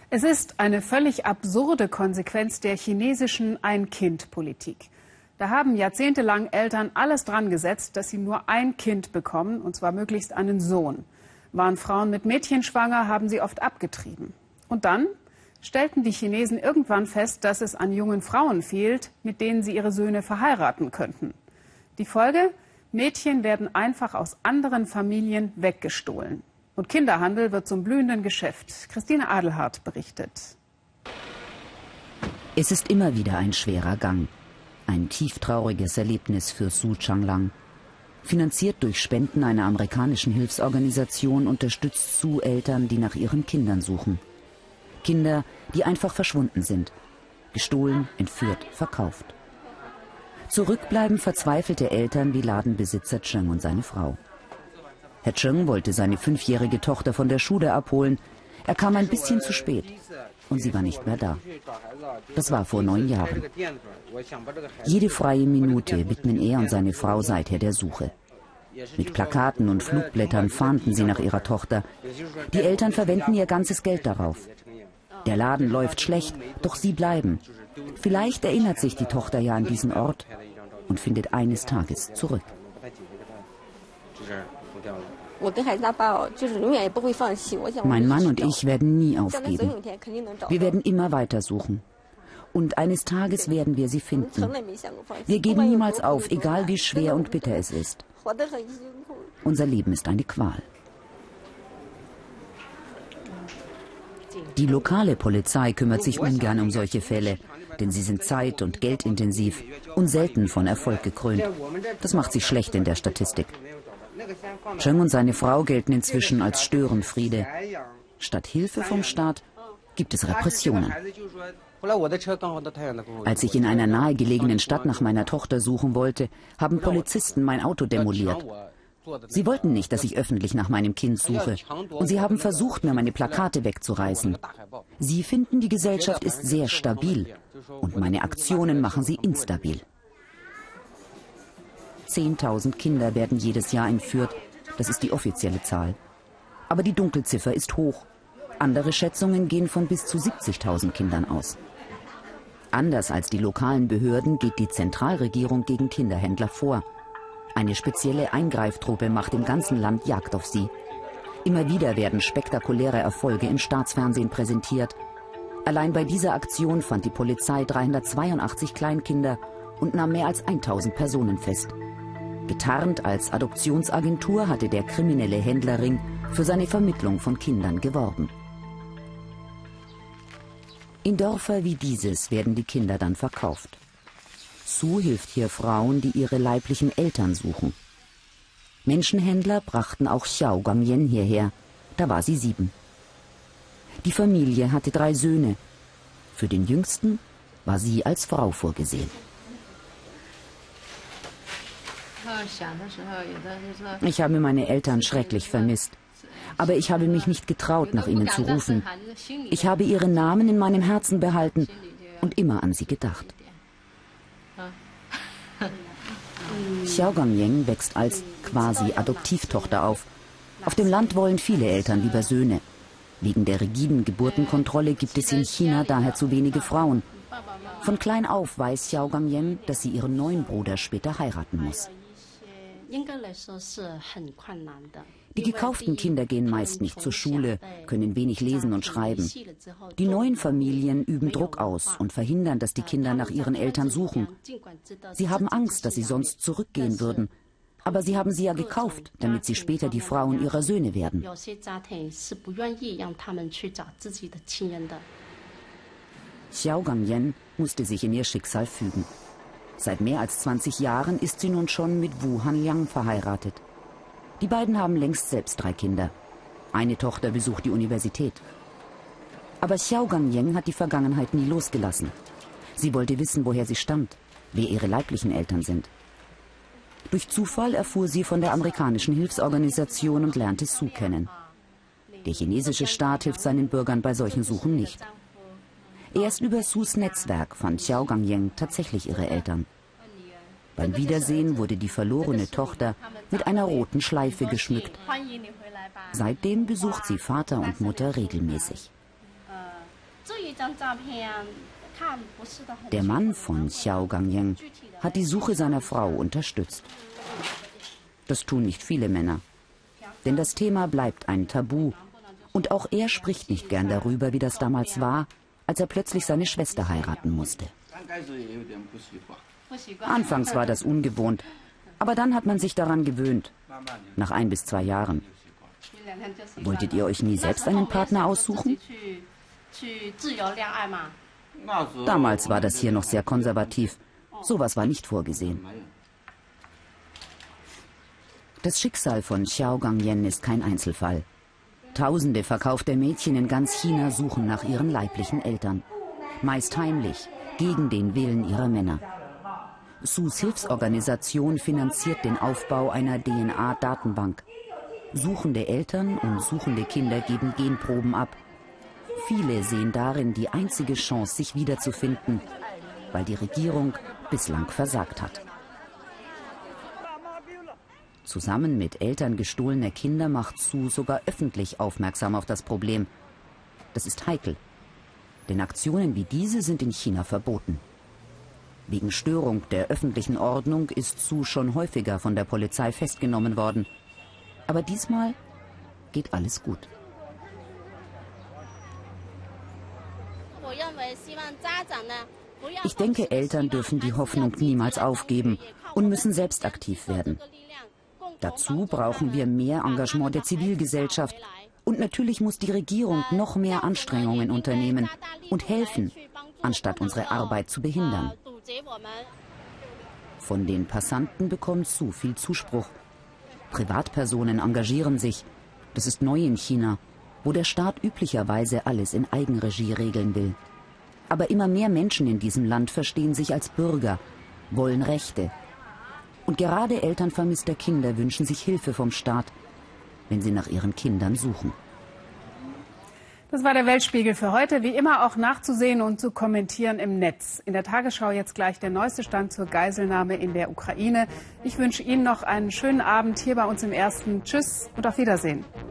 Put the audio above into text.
Es ist eine völlig absurde Konsequenz der chinesischen Ein-Kind-Politik. Da haben jahrzehntelang Eltern alles dran gesetzt, dass sie nur ein Kind bekommen, und zwar möglichst einen Sohn. Waren Frauen mit Mädchen schwanger, haben sie oft abgetrieben. Und dann stellten die Chinesen irgendwann fest, dass es an jungen Frauen fehlt, mit denen sie ihre Söhne verheiraten könnten. Die Folge? Mädchen werden einfach aus anderen Familien weggestohlen. Und Kinderhandel wird zum blühenden Geschäft. Christine Adelhardt berichtet. Es ist immer wieder ein schwerer Gang. Ein tieftrauriges Erlebnis für Su Changlang. Finanziert durch Spenden einer amerikanischen Hilfsorganisation unterstützt Su Eltern, die nach ihren Kindern suchen. Kinder, die einfach verschwunden sind. Gestohlen, entführt, verkauft. Zurückbleiben verzweifelte Eltern wie Ladenbesitzer Cheng und seine Frau. Herr Cheng wollte seine 5-jährige Tochter von der Schule abholen. Er kam ein bisschen zu spät und sie war nicht mehr da. Das war vor 9 Jahren. Jede freie Minute widmen er und seine Frau seither der Suche. Mit Plakaten und Flugblättern fahnden sie nach ihrer Tochter. Die Eltern verwenden ihr ganzes Geld darauf. Der Laden läuft schlecht, doch sie bleiben. Vielleicht erinnert sich die Tochter ja an diesen Ort und findet eines Tages zurück. Mein Mann und ich werden nie aufgeben. Wir werden immer weiter suchen. Und eines Tages werden wir sie finden. Wir geben niemals auf, egal wie schwer und bitter es ist. Unser Leben ist eine Qual. Die lokale Polizei kümmert sich ungern um solche Fälle, denn sie sind zeit- und geldintensiv und selten von Erfolg gekrönt. Das macht sie schlecht in der Statistik. Cheng und seine Frau gelten inzwischen als Störenfriede. Statt Hilfe vom Staat gibt es Repressionen. Als ich in einer nahegelegenen Stadt nach meiner Tochter suchen wollte, haben Polizisten mein Auto demoliert. Sie wollten nicht, dass ich öffentlich nach meinem Kind suche. Und sie haben versucht, mir meine Plakate wegzureißen. Sie finden, die Gesellschaft ist sehr stabil. Und meine Aktionen machen sie instabil. 10.000 Kinder werden jedes Jahr entführt. Das ist die offizielle Zahl. Aber die Dunkelziffer ist hoch. Andere Schätzungen gehen von bis zu 70.000 Kindern aus. Anders als die lokalen Behörden geht die Zentralregierung gegen Kinderhändler vor. Eine spezielle Eingreiftruppe macht im ganzen Land Jagd auf sie. Immer wieder werden spektakuläre Erfolge im Staatsfernsehen präsentiert. Allein bei dieser Aktion fand die Polizei 382 Kleinkinder und nahm mehr als 1.000 Personen fest. Getarnt als Adoptionsagentur hatte der kriminelle Händlerring für seine Vermittlung von Kindern geworben. In Dörfer wie dieses werden die Kinder dann verkauft. Su hilft hier Frauen, die ihre leiblichen Eltern suchen. Menschenhändler brachten auch Xiao Gangyan hierher. Da war sie 7. Die Familie hatte 3 Söhne. Für den jüngsten war sie als Frau vorgesehen. Ich habe meine Eltern schrecklich vermisst. Aber ich habe mich nicht getraut, nach ihnen zu rufen. Ich habe ihre Namen in meinem Herzen behalten und immer an sie gedacht. Xiao Gangyan wächst als quasi Adoptivtochter auf. Auf dem Land wollen viele Eltern lieber Söhne. Wegen der rigiden Geburtenkontrolle gibt es in China daher zu wenige Frauen. Von klein auf weiß Xiao Gangyan, dass sie ihren neuen Bruder später heiraten muss. Die gekauften Kinder gehen meist nicht zur Schule, können wenig lesen und schreiben. Die neuen Familien üben Druck aus und verhindern, dass die Kinder nach ihren Eltern suchen. Sie haben Angst, dass sie sonst zurückgehen würden. Aber sie haben sie ja gekauft, damit sie später die Frauen ihrer Söhne werden. Xiao Gangyan musste sich in ihr Schicksal fügen. Seit mehr als 20 Jahren ist sie nun schon mit Wu Hanliang verheiratet. Die beiden haben längst selbst 3 Kinder. Eine Tochter besucht die Universität. Aber Xiao Gangyan hat die Vergangenheit nie losgelassen. Sie wollte wissen, woher sie stammt, wer ihre leiblichen Eltern sind. Durch Zufall erfuhr sie von der amerikanischen Hilfsorganisation und lernte Su kennen. Der chinesische Staat hilft seinen Bürgern bei solchen Suchen nicht. Erst über Sus Netzwerk fand Xiao Gangyan tatsächlich ihre Eltern. Beim Wiedersehen wurde die verlorene Tochter mit einer roten Schleife geschmückt. Seitdem besucht sie Vater und Mutter regelmäßig. Der Mann von Xiao Gangyang hat die Suche seiner Frau unterstützt. Das tun nicht viele Männer. Denn das Thema bleibt ein Tabu. Und auch er spricht nicht gern darüber, wie das damals war, als er plötzlich seine Schwester heiraten musste. Anfangs war das ungewohnt, aber dann hat man sich daran gewöhnt. Nach 1 bis 2 Jahren. Wolltet ihr euch nie selbst einen Partner aussuchen? Damals war das hier noch sehr konservativ. Sowas war nicht vorgesehen. Das Schicksal von Xiao Gangyan ist kein Einzelfall. Tausende verkaufte Mädchen in ganz China suchen nach ihren leiblichen Eltern. Meist heimlich, gegen den Willen ihrer Männer. Sus Hilfsorganisation finanziert den Aufbau einer DNA-Datenbank. Suchende Eltern und suchende Kinder geben Genproben ab. Viele sehen darin die einzige Chance, sich wiederzufinden, weil die Regierung bislang versagt hat. Zusammen mit Eltern gestohlener Kinder macht Su sogar öffentlich aufmerksam auf das Problem. Das ist heikel, denn Aktionen wie diese sind in China verboten. Wegen Störung der öffentlichen Ordnung ist Su schon häufiger von der Polizei festgenommen worden. Aber diesmal geht alles gut. Ich denke, Eltern dürfen die Hoffnung niemals aufgeben und müssen selbst aktiv werden. Dazu brauchen wir mehr Engagement der Zivilgesellschaft. Und natürlich muss die Regierung noch mehr Anstrengungen unternehmen und helfen, anstatt unsere Arbeit zu behindern. Von den Passanten bekommt Su viel Zuspruch. Privatpersonen engagieren sich. Das ist neu in China, wo der Staat üblicherweise alles in Eigenregie regeln will. Aber immer mehr Menschen in diesem Land verstehen sich als Bürger, wollen Rechte. Und gerade Eltern vermisster Kinder wünschen sich Hilfe vom Staat, wenn sie nach ihren Kindern suchen. Das war der Weltspiegel für heute. Wie immer auch nachzusehen und zu kommentieren im Netz. In der Tagesschau jetzt gleich der neueste Stand zur Geiselnahme in der Ukraine. Ich wünsche Ihnen noch einen schönen Abend hier bei uns im Ersten. Tschüss und auf Wiedersehen.